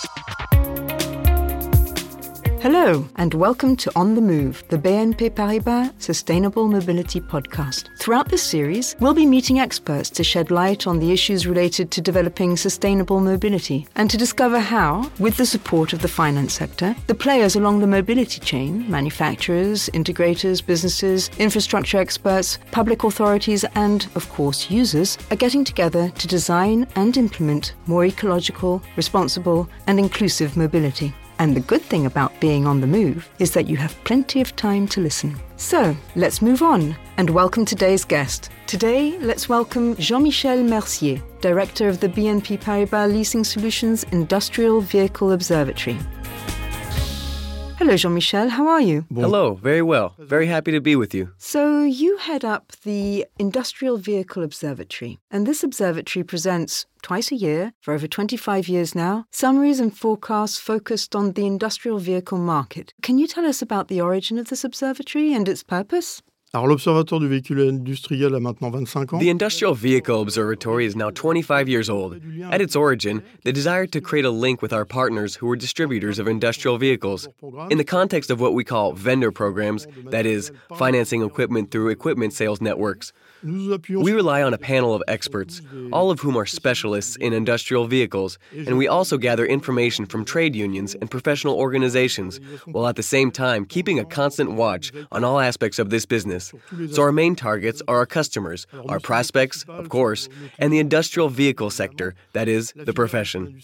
Hello, and welcome to On the Move, the BNP Paribas Sustainable Mobility Podcast. Throughout this series, we'll be meeting experts to shed light on the issues related to developing sustainable mobility and to discover how, with the support of the finance sector, the players along the mobility chain, manufacturers, integrators, businesses, infrastructure experts, public authorities, and, of course, users, are getting together to design and implement more ecological, responsible, and inclusive mobility. And the good thing about being on the move is that you have plenty of time to listen. So, let's move on and welcome today's guest. Today, let's welcome Jean-Michel Mercier, Director of the BNP Paribas Leasing Solutions Industrial Vehicle Observatory. Hello, Jean-Michel. How are you? Hello. Very well. Very happy to be with you. So you head up the Industrial Vehicle Observatory, and this observatory presents twice a year, for over 25 years now, summaries and forecasts focused on the industrial vehicle market. Can you tell us about the origin of this observatory and its purpose? Alors, l'Observatoire du véhicule industriel a maintenant 25 ans. The Industrial Vehicle Observatory is now 25 years old. At its origin, the desire to create a link with our partners who were distributors of industrial vehicles. In the context of what we call vendor programs, that is, financing equipment through equipment sales networks, we rely on a panel of experts, all of whom are specialists in industrial vehicles, and we also gather information from trade unions and professional organizations, while at the same time keeping a constant watch on all aspects of this business. So our main targets are our customers, our prospects, of course, and the industrial vehicle sector, that is, the profession.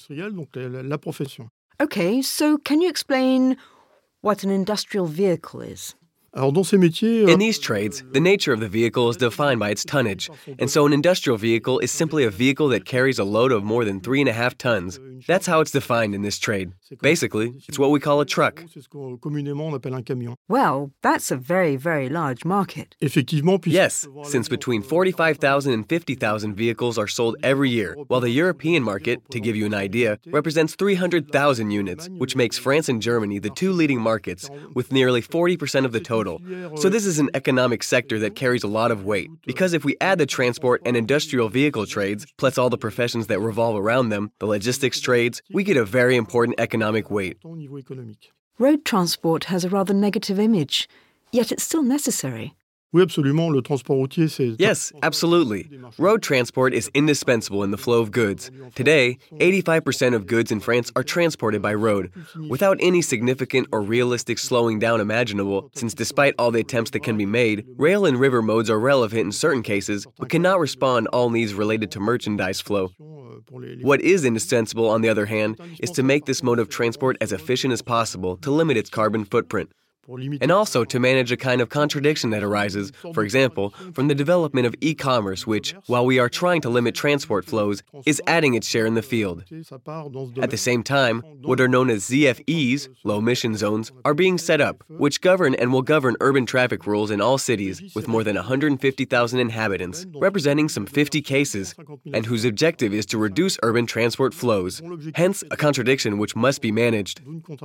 Okay, so can you explain what an industrial vehicle is? Alors, dans ces métiers, In these trades, the nature of the vehicle is defined by its tonnage, and so an industrial vehicle is simply a vehicle that carries a load of more than 3.5 tons. That's how it's defined in this trade. Basically, it's what we call a truck. c'est ce qu'on communément on appelle un camion. Well, that's a very, very large market. Effectivement, puisque Yes, since between 45,000 and 50,000 vehicles are sold every year, while the European market, to give you an idea, represents 300,000 units, which makes France and Germany the two leading markets, with nearly 40% of the total. So this is an economic sector that carries a lot of weight, because if we add the transport and industrial vehicle trades, plus all the professions that revolve around them, the logistics trades, we get a very important economic weight. au niveau économique. Road transport has a rather negative image, yet it's still necessary. Oui, absolument, le transport routier, c'est... Yes, absolutely. Road transport is indispensable in the flow of goods. Today, 85% of goods in France are transported by road, without any significant or realistic slowing down imaginable, since despite all the attempts that can be made, rail and river modes are relevant in certain cases, but cannot respond all needs related to merchandise flow. What is indispensable, on the other hand, is to make this mode of transport as efficient as possible to limit its carbon footprint. And also to manage a kind of contradiction that arises, for example, from the development of e-commerce, which, while we are trying to limit transport flows, is adding its share in the field. At the same time, what are known as ZFEs, low-emission zones, are being set up, which govern and will govern urban traffic rules in all cities with more than 150,000 inhabitants, representing some 50 cases, and whose objective is to reduce urban transport flows. Hence, a contradiction which must be managed.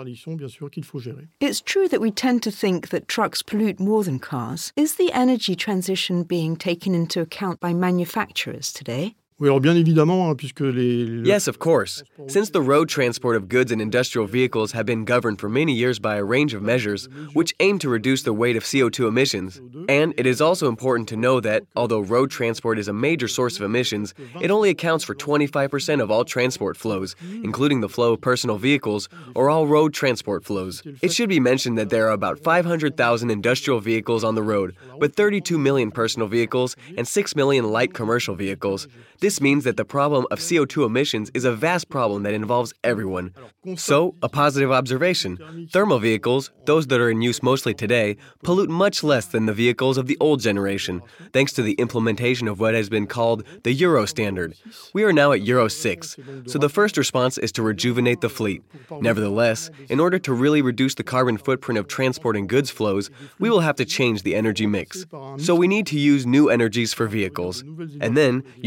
It's true that we tend to think that trucks pollute more than cars. Is the energy transition being taken into account by manufacturers today? Oui, alors bien évidemment, puisque Yes, of course. Since the road transport of goods and industrial vehicles have been governed for many years by a range of measures which aim to reduce the weight of CO2 emissions. And it is also important to know that, although road transport is a major source of emissions, it only accounts for 25% of all transport flows, including the flow of personal vehicles or all road transport flows. It should be mentioned that there are about 500,000 industrial vehicles on the road, but 32 million personal vehicles and 6 million light commercial vehicles. This means that the problem of CO2 emissions is a vast problem that involves everyone. So, a positive observation. Thermal vehicles, those that are in use mostly today, pollute much less than the vehicles of the old generation, thanks to the implementation of what has been called the Euro standard. We are now at Euro 6, so the first response is to rejuvenate the fleet. Nevertheless, in order to really reduce the carbon footprint of transporting goods flows, we will have to change the energy mix. So we need to use new energies for vehicles, and then use all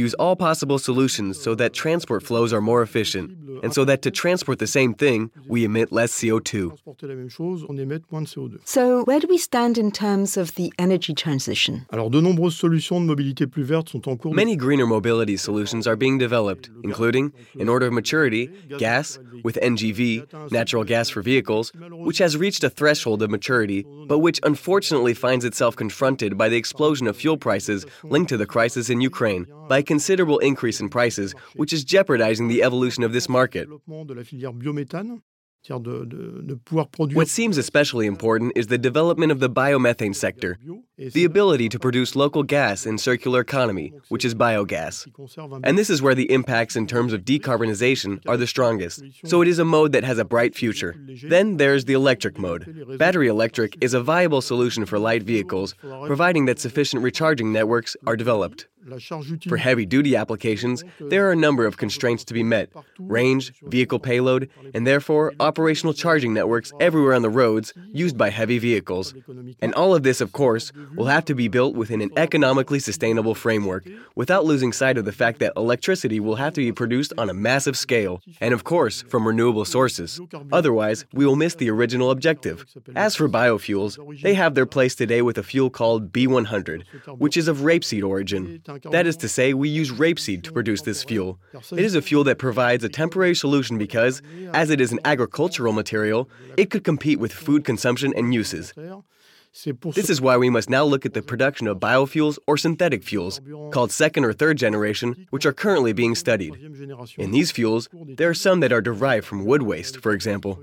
possible solutions so that transport flows are more efficient, and so that to transport the same thing, we emit less CO2. Transporter la même chose, on émet moins de CO2. So, where do we stand in terms of the energy transition? Alors, de nombreuses solutions de mobilité plus verte sont en cours. Many greener mobility solutions are being developed, including, in order of maturity, gas, with NGV, natural gas for vehicles, which has reached a threshold of maturity, but which unfortunately finds itself confronted by the explosion of fuel prices linked to the crisis in Ukraine, by a considerable increase in prices, which is jeopardizing the evolution of this market. De la filière biométhane, c'est-à-dire de pouvoir produire. What seems especially important is the development of the biomethane sector, the ability to produce local gas in circular economy, which is biogas. And this is where the impacts in terms of decarbonization are the strongest. So it is a mode that has a bright future. Then there's the electric mode. Battery electric is a viable solution for light vehicles, providing that sufficient recharging networks are developed. For heavy-duty applications, there are a number of constraints to be met: range, vehicle payload, and therefore operational charging networks everywhere on the roads used by heavy vehicles. And all of this, of course, will have to be built within an economically sustainable framework, without losing sight of the fact that electricity will have to be produced on a massive scale, and of course, from renewable sources. Otherwise, we will miss the original objective. As for biofuels, they have their place today with a fuel called B100, which is of rapeseed origin. That is to say, we use rapeseed to produce this fuel. It is a fuel that provides a temporary solution because, as it is an agricultural material, it could compete with food consumption and uses. This is why we must now look at the production of biofuels or synthetic fuels, called second or third generation, which are currently being studied. In these fuels, there are some that are derived from wood waste, for example.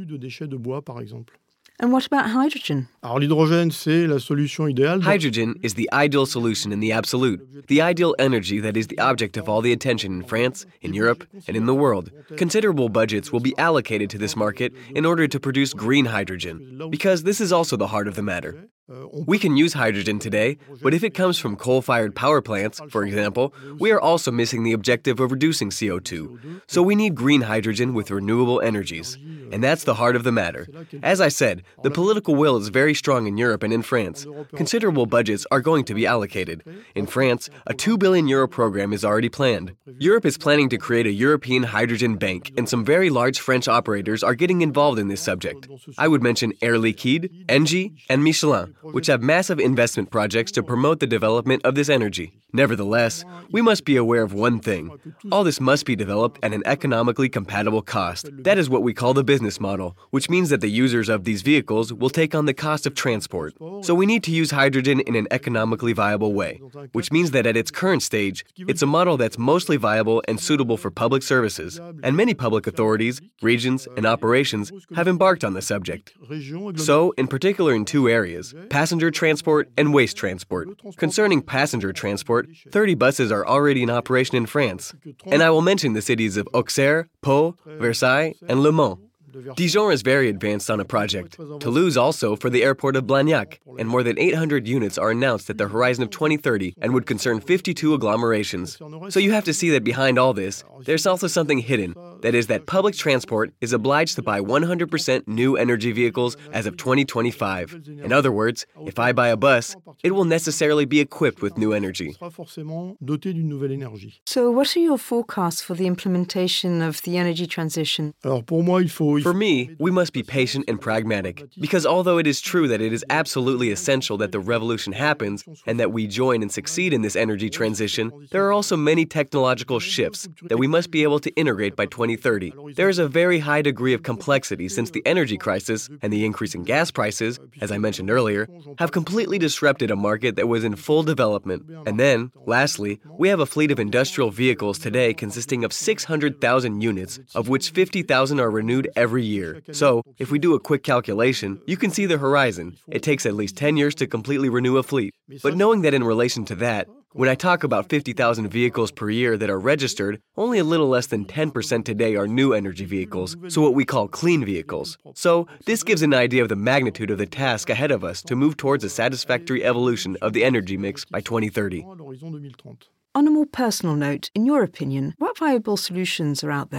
And what about hydrogen? Alors l'hydrogène, c'est la solution idéale. Hydrogen is the ideal solution in the absolute, the ideal energy that is the object of all the attention in France, in Europe, and in the world. Considerable budgets will be allocated to this market in order to produce green hydrogen, because this is also the heart of the matter. We can use hydrogen today, but if it comes from coal-fired power plants, for example, we are also missing the objective of reducing CO2. So we need green hydrogen with renewable energies. And that's the heart of the matter. As I said, the political will is very strong in Europe and in France. Considerable budgets are going to be allocated. In France, a €2 billion program is already planned. Europe is planning to create a European hydrogen bank, and some very large French operators are getting involved in this subject. I would mention Air Liquide, Engie, and Michelin, which have massive investment projects to promote the development of this energy. Nevertheless, we must be aware of one thing. All this must be developed at an economically compatible cost. That is what we call the business model, which means that the users of these vehicles will take on the cost of transport. So we need to use hydrogen in an economically viable way, which means that at its current stage, it's a model that's mostly viable and suitable for public services. And many public authorities, regions, and operations have embarked on the subject. So, in particular in two areas, passenger transport and waste transport. Concerning passenger transport, 30 buses are already in operation in France. And I will mention the cities of Auxerre, Pau, Versailles, and Le Mans. Dijon is very advanced on a project. Toulouse also for the airport of Blagnac, and more than 800 units are announced at the horizon of 2030 and would concern 52 agglomerations. So you have to see that behind all this, there's also something hidden. That is that public transport is obliged to buy 100% new energy vehicles as of 2025. In other words, if I buy a bus, it will necessarily be equipped with new energy. So what are your forecasts for the implementation of the energy transition? For me, we must be patient and pragmatic, because although it is true that it is absolutely essential that the revolution happens and that we join and succeed in this energy transition, there are also many technological shifts that we must be able to integrate by 2030. There is a very high degree of complexity since the energy crisis and the increase in gas prices, as I mentioned earlier, have completely disrupted a market that was in full development. And then, lastly, we have a fleet of industrial vehicles today consisting of 600,000 units, of which 50,000 are renewed every year. So, if we do a quick calculation, you can see the horizon. It takes at least 10 years to completely renew a fleet. But knowing that in relation to that, when I talk about 50,000 vehicles per year that are registered, only a little less than 10% today are new energy vehicles, so what we call clean vehicles. So, this gives an idea of the magnitude of the task ahead of us to move towards a satisfactory evolution of the energy mix by 2030. On a more personal note, in your opinion, what viable solutions are out there?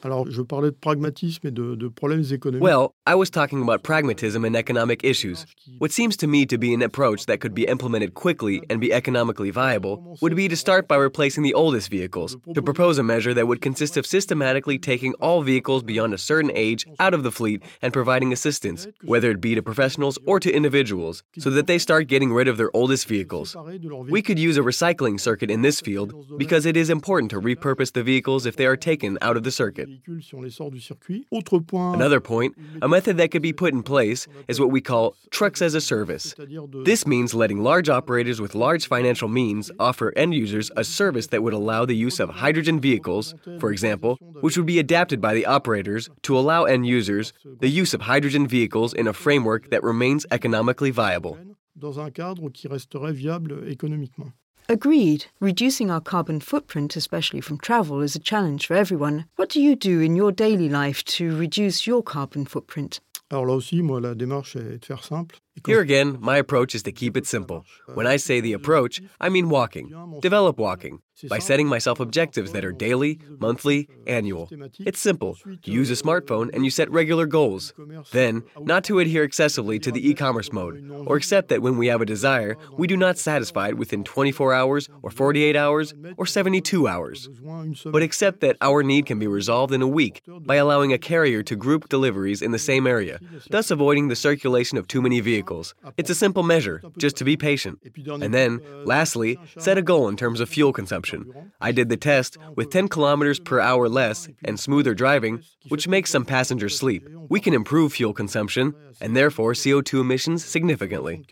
Alors, je parlais de pragmatisme et de problèmes économiques. Well, I was talking about pragmatism and economic issues. What seems to me to be an approach that could be implemented quickly and be economically viable would be to start by replacing the oldest vehicles, to propose a measure that would consist of systematically taking all vehicles beyond a certain age out of the fleet and providing assistance, whether it be to professionals or to individuals, so that they start getting rid of their oldest vehicles. We could use a recycling circuit in this field because it is important to repurpose the vehicles if they are taken out of the circuit. Another point, a method that could be put in place is what we call trucks as a service. This means letting large operators with large financial means offer end users a service that would allow the use of hydrogen vehicles, for example, which would be adapted by the operators to allow end users the use of hydrogen vehicles in a framework that remains economically viable. Dans un cadre qui resterait viable économiquement. Agreed. Reducing our carbon footprint, especially from travel, is a challenge for everyone. What do you do in your daily life to reduce your carbon footprint? Alors là aussi, moi, la démarche est de faire simple. Here again, my approach is to keep it simple. When I say the approach, I mean walking. Develop walking by setting myself objectives that are daily, monthly, annual. It's simple. You use a smartphone and you set regular goals. Then, not to adhere excessively to the e-commerce mode, or accept that when we have a desire, we do not satisfy it within 24 hours, or 48 hours, or 72 hours. But accept that our need can be resolved in a week by allowing a carrier to group deliveries in the same area, thus avoiding the circulation of too many vehicles. It's a simple measure, just to be patient. And then, lastly, set a goal in terms of fuel consumption. I did the test with 10 kilometers per hour less and smoother driving, which makes some passengers sleep. We can improve fuel consumption and therefore CO2 emissions significantly.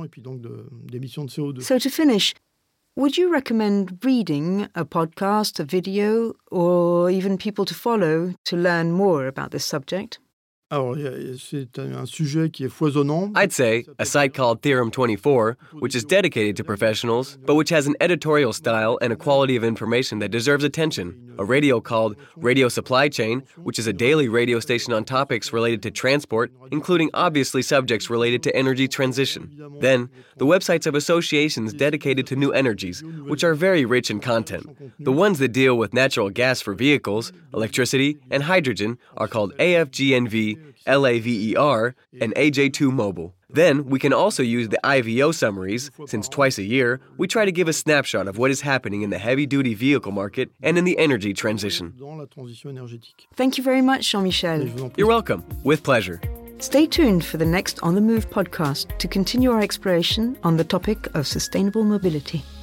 So to finish, would you recommend reading a podcast, a video, or even people to follow to learn more about this subject? Alors, c'est un sujet qui est foisonnant. I'd say a site called Theorem 24, which is dedicated to professionals, but which has an editorial style and a quality of information that deserves attention. A radio called Radio Supply Chain, which is a daily radio station on topics related to transport, including obviously subjects related to energy transition. Then, the websites of associations dedicated to new energies, which are very rich in content. The ones that deal with natural gas for vehicles, electricity, and hydrogen are called AFGNV, LAVER, and AJ2 Mobile. Then, we can also use the IVO summaries, since twice a year, we try to give a snapshot of what is happening in the heavy-duty vehicle market and in the energy transition. Thank you very much, Jean-Michel. You're welcome. With pleasure. Stay tuned for the next On the Move podcast to continue our exploration on the topic of sustainable mobility.